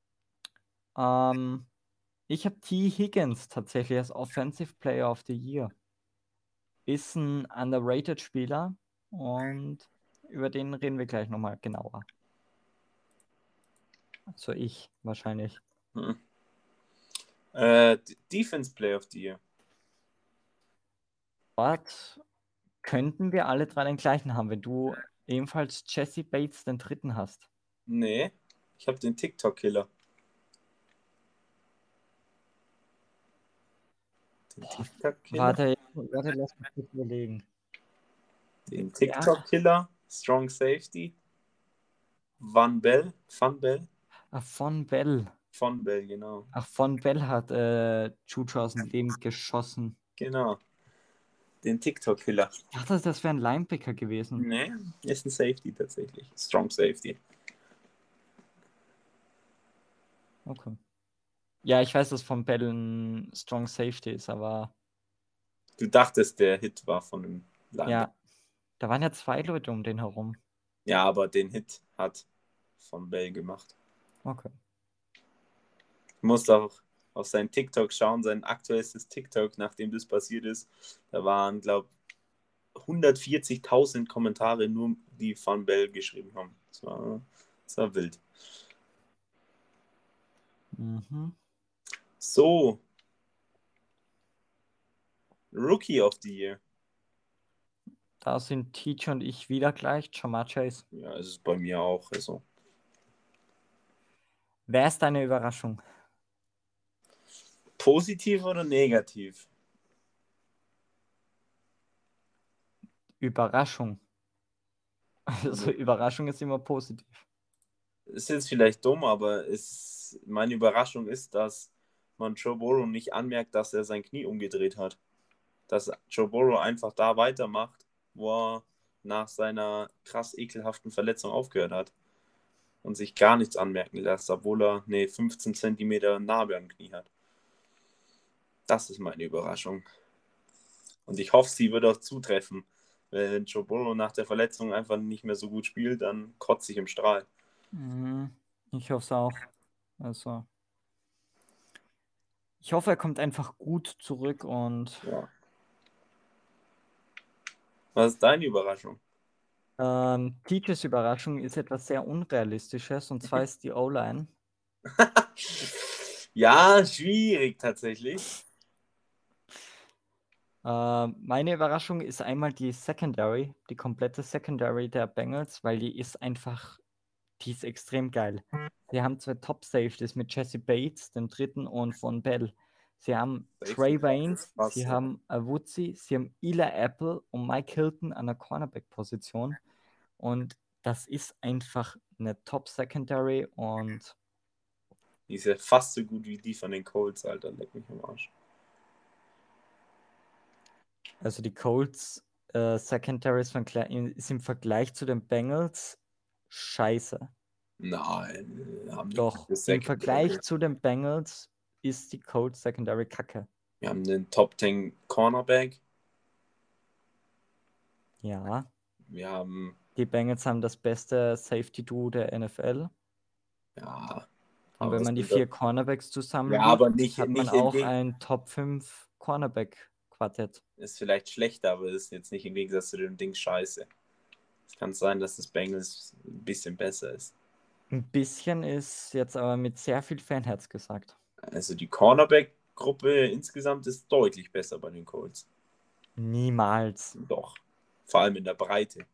Ähm, ich habe T. Higgins tatsächlich als Offensive Player of the Year. Ist ein underrated Spieler und über den reden wir gleich nochmal genauer. Also ich wahrscheinlich. Hm. Äh, Defense Player of the Year. Dort könnten wir alle drei den gleichen haben, wenn du ebenfalls Jesse Bates den dritten hast. Nee, ich habe den TikTok-Killer. Den TikTok-Killer? Warte, warte, lass mich kurz überlegen. Den Ja. TikTok-Killer, Strong Safety, Van Bell, Van Bell, Ach, von Bell. Von Bell, genau. Ach, von Bell hat äh, Juju aus dem Leben geschossen. Genau. Den TikTok-Killer. Ich dachte, das wäre ein Linebacker gewesen. Nee, ist ein Safety tatsächlich. Strong Safety. Okay. Ja, ich weiß, dass von Bell ein Strong Safety ist, aber Du dachtest, der Hit war von dem Linebacker. ja, da waren ja zwei Leute um den herum. Ja, aber den Hit hat Von Bell gemacht. Okay. Du musst auch auf sein TikTok schauen, sein aktuellstes TikTok, nachdem das passiert ist. Da waren, glaube ich, hundertvierzigtausend Kommentare nur, die Van Bell geschrieben haben. Das war, das war wild. Mhm. So. Rookie of the Year. Da sind T J und ich wieder gleich. Jamar Chase. Ja, es ist bei mir auch. Also. Wer ist deine Überraschung? Positiv oder negativ? Überraschung. Also Also, Überraschung ist immer positiv. ist jetzt vielleicht dumm, aber es, meine Überraschung ist, dass man Joe Burrow nicht anmerkt, dass er sein Knie umgedreht hat. Dass Joe Burrow einfach da weitermacht, wo er nach seiner krass ekelhaften Verletzung aufgehört hat. Und sich gar nichts anmerken lässt, obwohl er eine fünfzehn Zentimeter Narbe am Knie hat. Das ist meine Überraschung. Und ich hoffe, sie wird auch zutreffen. Wenn Joe Burrow nach der Verletzung einfach nicht mehr so gut spielt, dann kotzt sich im Strahl. Ich hoffe es auch. Also, ich hoffe, er kommt einfach gut zurück und. Ja. Was ist deine Überraschung? Ähm, Teachers Überraschung ist etwas sehr Unrealistisches, und zwar ist die O-Line. Ja, schwierig tatsächlich. Äh, meine Überraschung ist einmal die Secondary, die komplette Secondary der Bengals, weil die ist einfach, die ist extrem geil. Sie haben zwei Top-Safeties mit Jesse Bates, dem dritten, und Von Bell. Sie haben Safety Trey Class Waynes, ist krass, sie ja. haben Awuzie, sie haben Eli Apple und Mike Hilton an der Cornerback-Position. Und das ist einfach eine Top-Secondary und Die ist ja fast so gut wie die von den Colts, Alter. Leck mich am Arsch. also die Colts äh, Secondary ist, von, ist im Vergleich zu den Bengals scheiße. Nein, haben die Doch, im Vergleich zu den Bengals ist die Colts Secondary kacke. Wir haben den Top zehn Cornerback. Ja. Wir haben. Die Bengals haben das beste Safety-Duo der N F L. Ja. Und wenn man die vier Cornerbacks zusammenlegt, ja, aber nicht, hat man nicht auch in ein Top fünf Cornerback-Quartett. Ist vielleicht schlechter, aber ist jetzt nicht im Gegensatz zu dem Ding scheiße. Es kann sein, dass das Bengals ein bisschen besser ist. Ein bisschen ist jetzt aber mit sehr viel Fanherz gesagt. Also die Cornerback-Gruppe insgesamt ist deutlich besser bei den Colts. Niemals. Doch. Vor allem in der Breite.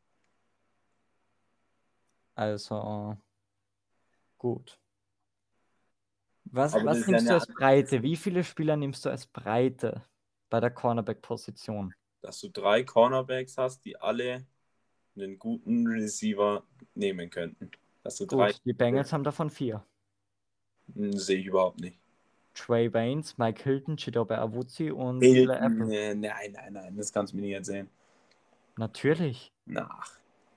Also, gut. Was, Aber das was ist ja nimmst du eine als Breite? Wie viele Spieler nimmst du als Breite bei der Cornerback-Position? Dass du drei Cornerbacks hast, die alle einen guten Receiver nehmen könnten. Dass du drei. Gut, die Bengals haben davon vier. Hm, sehe ich überhaupt nicht. Trey Waynes, Mike Hilton, Chidobe Awuzie und Hilton, Eli Apple. nee, nein, nein, nein, das kannst du mir nicht erzählen. Natürlich. Nach.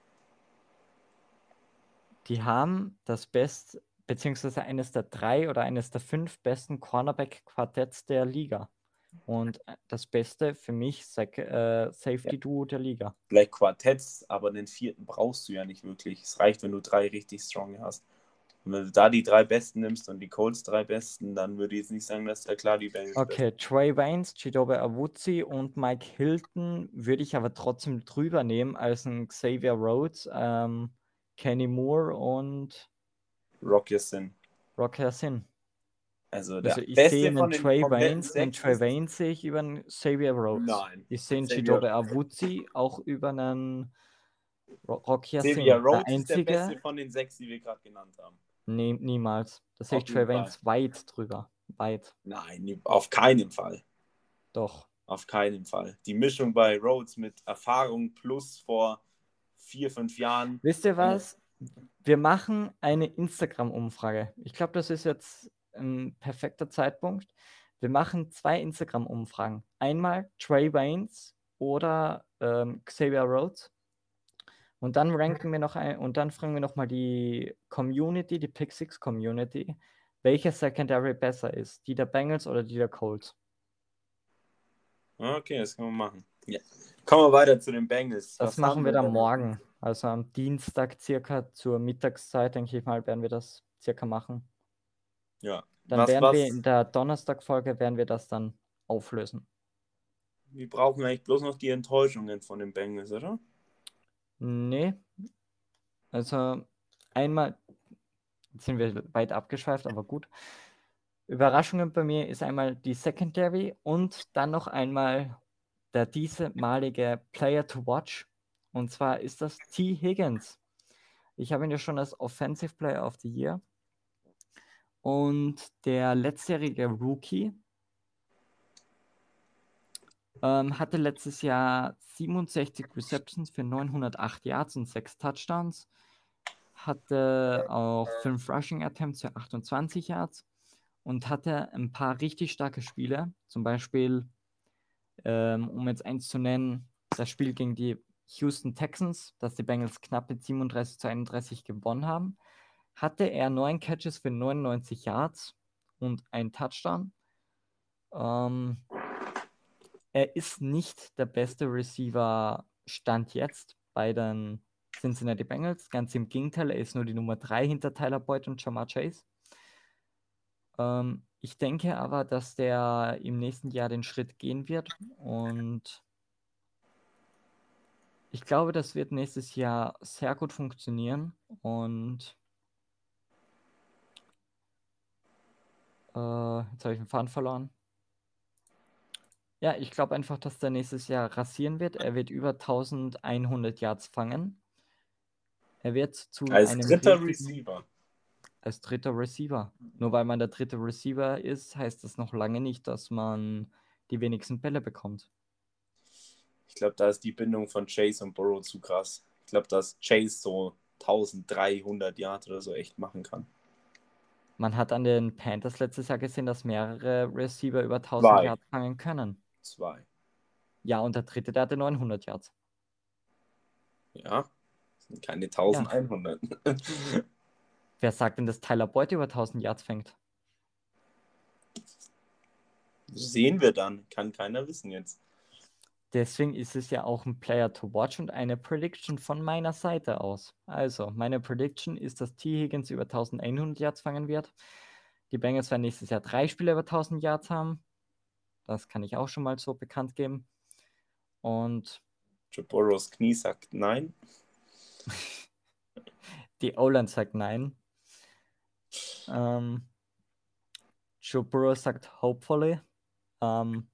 Die haben das best, beziehungsweise eines der drei oder eines der fünf besten Cornerback-Quartetts der Liga. Und das Beste für mich Sec- äh, Safety-Duo der Liga. Vielleicht Quartetts, aber den vierten brauchst du ja nicht wirklich. Es reicht, wenn du drei richtig strong hast. Und wenn du da die drei Besten nimmst und die Colts drei Besten, dann würde ich jetzt nicht sagen, dass da klar die Bengals Okay, Trey Waynes, Chidobe Awuzie und Mike Hilton würde ich aber trotzdem drüber nehmen als ein Xavier Rhodes, ähm, Kenny Moore und Rock Sin. Rock Sin. Also der Also ich Beste sehe von einen den Trey kompletten Waynes, einen sechs Trey ist- Waynes sehe ich über einen Xavier Rhodes. Nein. Ich sehe einen Xavier- Chidobe Awuzie auch über einen Ro- Rock Sin. Xavier Der Rhodes ist der einzige, Beste von den sechs, die wir gerade genannt haben. nee, niemals. Da sehe ich Auf jeden Trey Waynes weit drüber. Weit. Nein, auf keinen Fall. Doch. Auf keinen Fall. Die Mischung bei Rhodes mit Erfahrung plus vor vier, fünf Jahren. Wisst ihr was? Wir machen eine Instagram-Umfrage. Ich glaube, das ist jetzt ein perfekter Zeitpunkt. Wir machen zwei Instagram-Umfragen. Einmal Trey Waynes oder ähm, Xavier Rhodes. Und dann ranken wir noch ein, und dann fragen wir noch mal die Community, die Pick Six Community, welche Secondary besser ist, die der Bengals oder die der Colts. Okay, das können wir machen. Ja. Kommen wir weiter zu den Bengals. Das Was machen haben wir dann denn? morgen. Also am Dienstag circa zur Mittagszeit, denke ich mal, werden wir das circa machen. Ja. Dann Was, werden was, wir in der Donnerstag-Folge werden wir das dann auflösen. wir brauchen eigentlich bloß noch die Enttäuschungen von den Bengals, oder? Nee. Also einmal, jetzt sind wir weit abgeschweift, aber gut. Überraschungen bei mir ist einmal die Secondary und dann noch einmal der diesmalige Player to watch. Und zwar ist das T. Higgins. Ich habe ihn ja schon als Offensive Player of the Year. Und der letztjährige Rookie ähm, hatte letztes Jahr siebenundsechzig Receptions für neunhundertacht Yards und sechs Touchdowns. Hatte auch fünf Rushing Attempts für achtundzwanzig Yards und hatte ein paar richtig starke Spiele. Zum Beispiel, ähm, um jetzt eins zu nennen, das Spiel gegen die Houston Texans, das die Bengals knapp mit siebenunddreißig zu einunddreißig gewonnen haben, hatte er neun Catches für neunundneunzig Yards und einen Touchdown. Ähm, er ist nicht der beste Receiver Stand jetzt bei den Cincinnati Bengals. Ganz im Gegenteil, er ist nur die Nummer drei hinter Tyler Boyd und Ja'Marr Chase. Ähm, ich denke aber, dass der im nächsten Jahr den Schritt gehen wird und ich glaube, das wird nächstes Jahr sehr gut funktionieren und äh, jetzt habe ich den Faden verloren. Ja, ich glaube einfach, dass der nächstes Jahr rasieren wird. Er wird über elfhundert Yards fangen. Er wird zu Als einem dritter richtigen, Receiver. als dritter Receiver. Nur weil man der dritte Receiver ist, heißt das noch lange nicht, dass man die wenigsten Bälle bekommt. Ich glaube, da ist die Bindung von Chase und Burrow zu krass. Ich glaube, dass Chase so dreizehnhundert Yards oder so echt machen kann. Man hat an den Panthers letztes Jahr gesehen, dass mehrere Receiver über tausend Zwei. Yards fangen können. Zwei. Ja, und der dritte, der hatte neunhundert Yards. Ja, das sind keine Ja. elfhundert. Wer sagt denn, dass Tyler Boyd über tausend Yards fängt? Sehen wir dann. Kann keiner wissen jetzt. Deswegen ist es ja auch ein Player to watch und eine Prediction von meiner Seite aus. Also, meine Prediction ist, dass T. Higgins über elfhundert Yards fangen wird. Die Bengals werden nächstes Jahr drei Spieler über tausend Yards haben. Das kann ich auch schon mal so bekannt geben. Und Joe Burrows Knie sagt nein. die O-Line sagt nein. Ähm, Joe Burrow sagt hopefully. Ähm,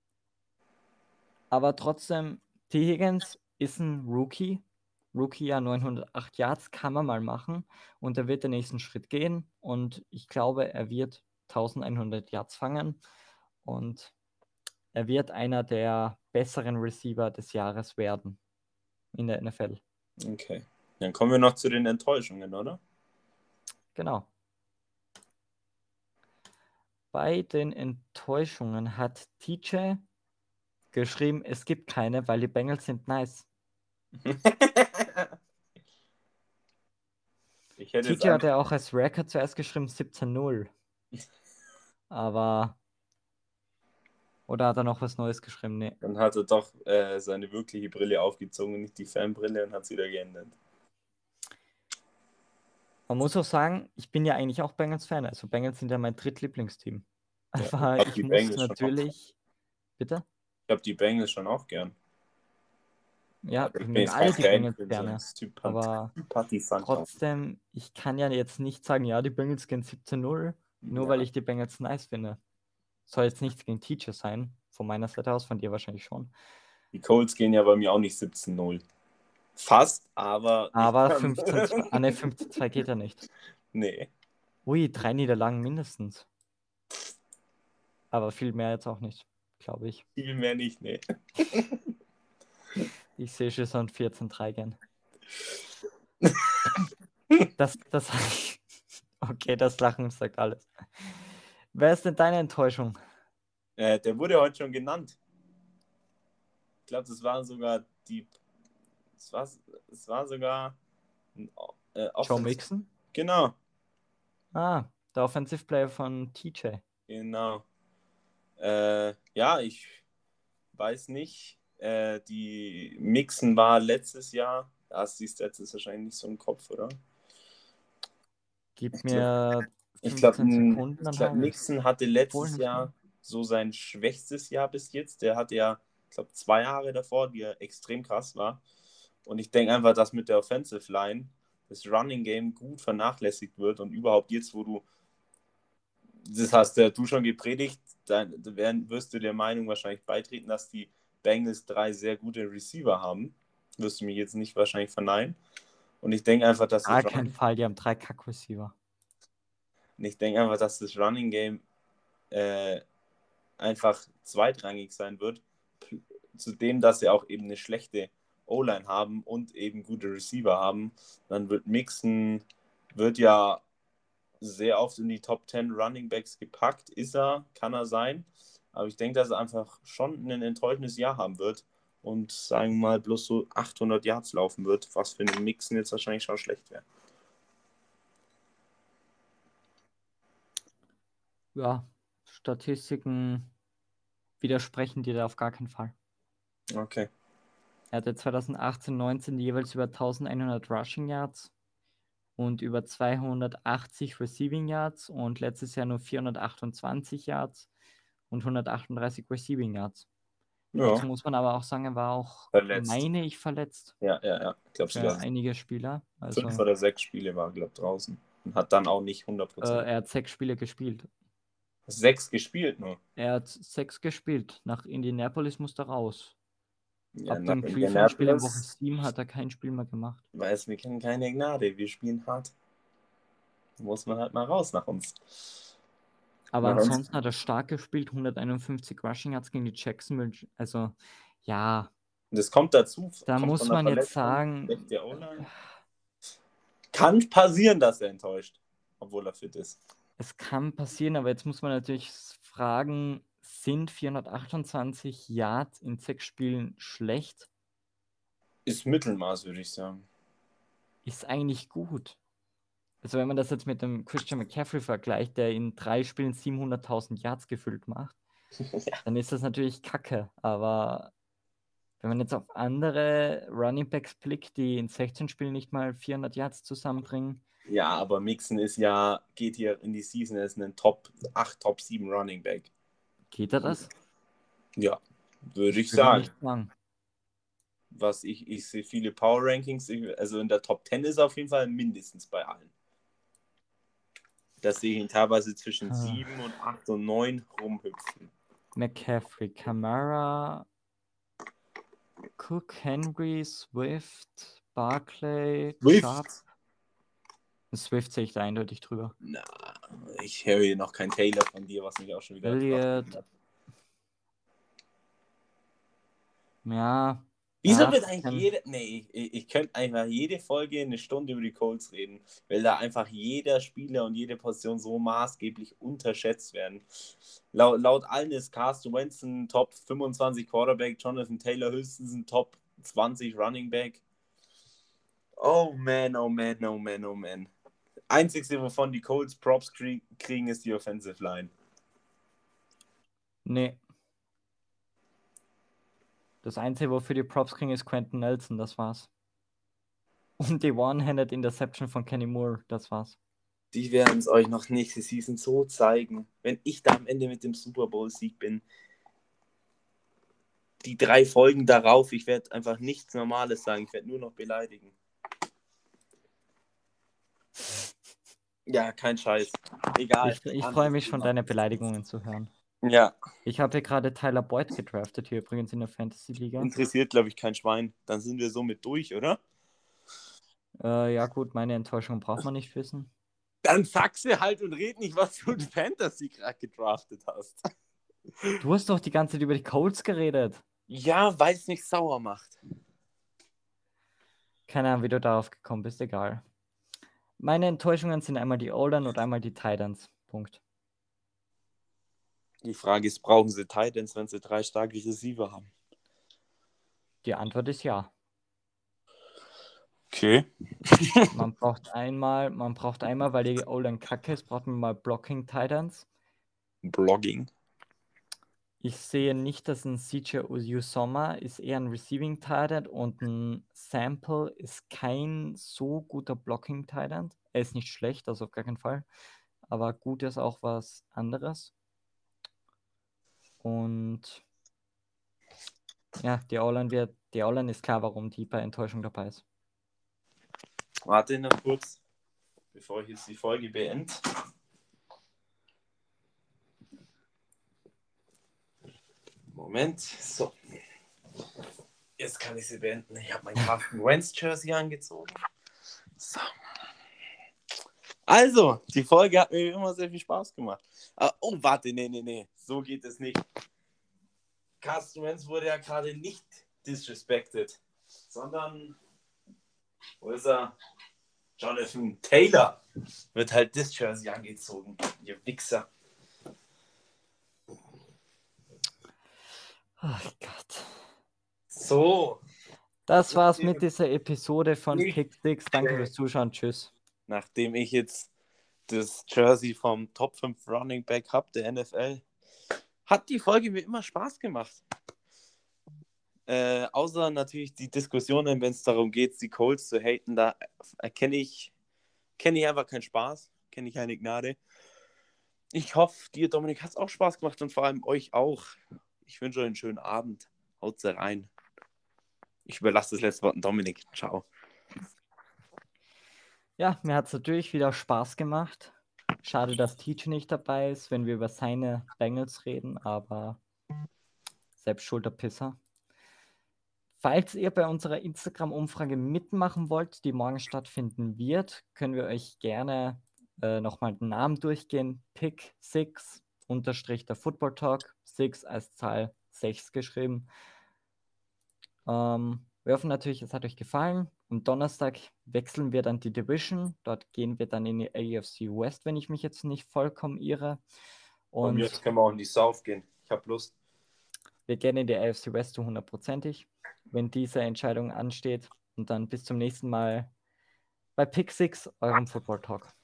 aber trotzdem, T. Higgins ist ein Rookie. Rookie ja neunhundertacht Yards kann man mal machen und er wird den nächsten Schritt gehen und ich glaube, er wird elfhundert Yards fangen und er wird einer der besseren Receiver des Jahres werden in der N F L. Okay. Dann kommen wir noch zu den Enttäuschungen, oder? Genau. Bei den Enttäuschungen hat T J geschrieben, es gibt keine, weil die Bengals sind nice. Ich hätte T J hat einfach... ja auch als Record zuerst geschrieben siebzehn null. Aber... Oder hat er noch was Neues geschrieben? Nee. Dann hat er doch äh, seine wirkliche Brille aufgezogen, nicht die Fanbrille, und hat es wieder geändert. Man muss auch sagen, ich bin ja eigentlich auch Bengals-Fan. Also Bengals sind ja mein drittlieblingsteam. Ja, Aber ich ich die muss Bengals natürlich... Bitte? Ich habe die Bengals schon auch gern. Ja, Aber ich ich bin mögen jetzt alle kein die Fan, Bengals ich bin so ein gerne. Sympath- Aber Sympathisant. trotzdem, ich kann ja jetzt nicht sagen, ja, die Bengals gehen siebzehn null, nur Ja. weil ich die Bengals nice finde. Soll jetzt nichts gegen Teacher sein, von meiner Seite aus, von dir wahrscheinlich schon. Die Colts gehen ja bei mir auch nicht siebzehn null. Fast, aber... Aber fünfzehn zwei, ah ne, fünfzehn zwei geht ja nicht. Nee. Ui, drei Niederlagen mindestens. Aber viel mehr jetzt auch nicht, glaube ich. Viel mehr nicht, nee. Ich sehe schon so ein vierzehn drei gern. Das, das, okay, das Lachen sagt alles. Wer ist denn deine Enttäuschung? Äh, der wurde heute schon genannt. Ich glaube, das war sogar die... Es war, es war sogar... Ein, äh, Joe Mixon? Genau. Ah, der Offensive Player von T J. Genau. Äh, ja, ich weiß nicht. Äh, die Mixen war letztes Jahr. Da hast du die Stats ist wahrscheinlich nicht so im Kopf, oder? Gib Ich mir Ich glaube, fünfzehn Sekunden, dann glaub, habe ich. Mixon hatte Obwohl letztes nicht Jahr mehr. so sein schwächstes Jahr bis jetzt. Der hatte ja, ich glaube, zwei Jahre davor, die ja extrem krass war. Und ich denke einfach, dass mit der Offensive Line das Running Game gut vernachlässigt wird und überhaupt jetzt, wo du, das hast ja du schon gepredigt, dann wirst du der Meinung wahrscheinlich beitreten, dass die Bengals drei sehr gute Receiver haben. Wirst du mir jetzt nicht wahrscheinlich verneinen. Und ich denke einfach, dass Gar das kein Run- Fall, die haben drei Kack-Receiver. und ich denke einfach, dass das Running Game äh, einfach zweitrangig sein wird, zudem, dass sie auch eben eine schlechte O-Line haben und eben gute Receiver haben, dann wird Mixon, wird ja sehr oft in die Top zehn Running Backs gepackt. Ist er, kann er sein. Aber ich denke, dass er einfach schon ein enttäuschendes Jahr haben wird und, sagen wir mal, bloß so achthundert Yards laufen wird, was für einen Mixen jetzt wahrscheinlich schon schlecht wäre. Ja, Statistiken widersprechen dir da auf gar keinen Fall. Okay. Er hatte zwanzig achtzehn neunzehn jeweils über elfhundert Rushing Yards und über zweihundertachtzig Receiving Yards und letztes Jahr nur vierhundertachtundzwanzig Yards und hundertachtunddreißig Receiving Yards. Ja. Dazu muss man aber auch sagen, er war auch, Verletzt. meine ich, verletzt Ja, ja, ja. Ich glaube für sogar einige Spieler. Also, fünf oder sechs Spiele war, glaube ich, draußen. Und hat dann auch nicht hundert äh, Prozent. er hat sechs Spiele gespielt. Sechs gespielt nur. Er hat sechs gespielt. Nach Indianapolis musste er raus. Ja, Ab nach dem Cleveland-Spiel in Woche Indianapolis, sieben hat er kein Spiel mehr gemacht. weiß, wir kennen keine Gnade. Wir spielen hart. Muss man halt mal raus nach uns. Aber Na, sonst- ansonsten hat er stark gespielt, hunderteinundfünfzig Rushing Yards gegen die Jacksonville. Also, ja, Das kommt dazu. da kommt muss von der man jetzt Verletzung, sagen, schlechte O-Line. Kann passieren, dass er enttäuscht, obwohl er fit ist. es kann passieren, aber jetzt muss man natürlich fragen, sind vierhundertachtundzwanzig Yards in sechs Spielen schlecht? Ist Mittelmaß, würde ich sagen. Ist eigentlich gut. Also wenn man das jetzt mit dem Christian McCaffrey vergleicht, der in drei Spielen siebenhunderttausend Yards gefüllt macht, Ja. dann ist das natürlich kacke. Aber wenn man jetzt auf andere Running Backs blickt, die in sechzehn Spielen nicht mal vierhundert Yards zusammenbringen, Ja, aber Mixon ist ja, geht hier in die Season, er ist ein Top acht, Top sieben Running Back. geht er das? Ja, würde ich will ja sagen. nicht sagen. Was ich, ich sehe viele Power Rankings, ich, also in der Top zehn ist er auf jeden Fall mindestens bei allen. Das sehe ich ihn teilweise zwischen Ah. sieben und acht und neun rumhüpfen. McCaffrey, Kamara, Cook, Henry, Swift, Barclay, Swift? Chubb. Swift sehe ich da eindeutig drüber. Na, ich höre hier noch kein Taylor von dir, was mich auch schon wieder Elliott. hat. Ja. Wieso ja, wird eigentlich kann- jede. Nee, ich, ich könnte einfach jede Folge eine Stunde über die Colts reden, weil da einfach jeder Spieler und jede Position so maßgeblich unterschätzt werden. Laut, laut allen ist Carson Wentz ein Top fünfundzwanzig Quarterback, Jonathan Taylor höchstens ein Top zwanzig Running Back. Oh man, oh man, oh man, oh man. Einzigste, wovon die Colts Props krieg- kriegen, ist die Offensive Line. Nee. Das Einzige, wofür die Props kriegen, ist Quentin Nelson, das war's. Und die One-Handed Interception von Kenny Moore, das war's. Die werden es euch noch nächste Season so zeigen. Wenn ich da am Ende mit dem Super Bowl-Sieg bin, die drei Folgen darauf, ich werde einfach nichts Normales sagen. Ich werde nur noch beleidigen. Ja, kein Scheiß. Egal. Ich, ich freue mich schon, deine Beleidigungen zu hören. Ja. Ich habe hier gerade Tyler Boyd gedraftet, hier übrigens in der Fantasy-Liga. Interessiert, glaube ich, kein Schwein. Dann sind wir somit durch, oder? Äh, ja gut, meine Enttäuschung braucht man nicht wissen. Dann sag sie halt und red nicht, was du in Fantasy gerade gedraftet hast. Du hast doch die ganze Zeit über die Colts geredet. Ja, weil es mich sauer macht. Keine Ahnung, wie du darauf gekommen bist, egal. Meine Enttäuschungen sind einmal die O-Line und einmal die Titans. Punkt. Die Frage ist, brauchen sie Titans, wenn sie drei starke Receiver haben? Die Antwort ist ja. Okay. Man braucht einmal, man braucht einmal, weil die O-Line kacke ist, braucht man mal Blocking Titans. Blogging. Ich sehe nicht, dass ein C J Uzomah ist eher ein Receiving Titan und ein Sample ist kein so guter Blocking Titan. Er ist nicht schlecht, also auf gar keinen Fall. Aber gut ist auch was anderes. Und ja, die O-Line wird, die O-Line ist klar, warum die bei Enttäuschung dabei ist. Warte noch kurz, bevor ich jetzt die Folge beende. Moment, so. Jetzt kann ich sie beenden. Ich habe mein Carson Wentz Jersey angezogen. So. Also, die Folge hat mir immer sehr viel Spaß gemacht. Ah, oh, warte, nee, nee, nee. So geht es nicht. Carson Wentz wurde ja gerade nicht disrespected, sondern, wo ist er? Jonathan Taylor wird halt das Jersey angezogen. Ihr Wichser. Ach Gott. So. Das war's mit dieser Episode von Pick Six. Danke fürs Zuschauen. Tschüss. Nachdem ich jetzt das Jersey vom Top fünf Running Back habe, der N F L, hat die Folge mir immer Spaß gemacht. Äh, außer natürlich die Diskussionen, wenn es darum geht, die Colts zu haten, da erkenne ich, kenne ich einfach keinen Spaß, kenne ich keine Gnade. Ich hoffe, dir, Dominik, hat es auch Spaß gemacht und vor allem euch auch. Ich wünsche euch einen schönen Abend. Haut's rein. Ich überlasse das letzte Wort an Dominik. Ciao. Ja, mir hat es natürlich wieder Spaß gemacht. Schade, dass Teach nicht dabei ist, wenn wir über seine Bengals reden, aber selbst schulter Pisser. Falls ihr bei unserer Instagram-Umfrage mitmachen wollt, die morgen stattfinden wird, können wir euch gerne äh, nochmal den Namen durchgehen. Pick six unterstrich der Football Talk, six als Zahl sechs geschrieben. Ähm, wir hoffen natürlich, es hat euch gefallen. Am Donnerstag wechseln wir dann die Division. Dort gehen wir dann in die A F C West, wenn ich mich jetzt nicht vollkommen irre. Und Und jetzt können wir auch in die South gehen. Ich habe Lust. wir gehen in die A F C West zu hundertprozentig, wenn diese Entscheidung ansteht. Und dann bis zum nächsten Mal bei Pick Six, eurem Football Talk.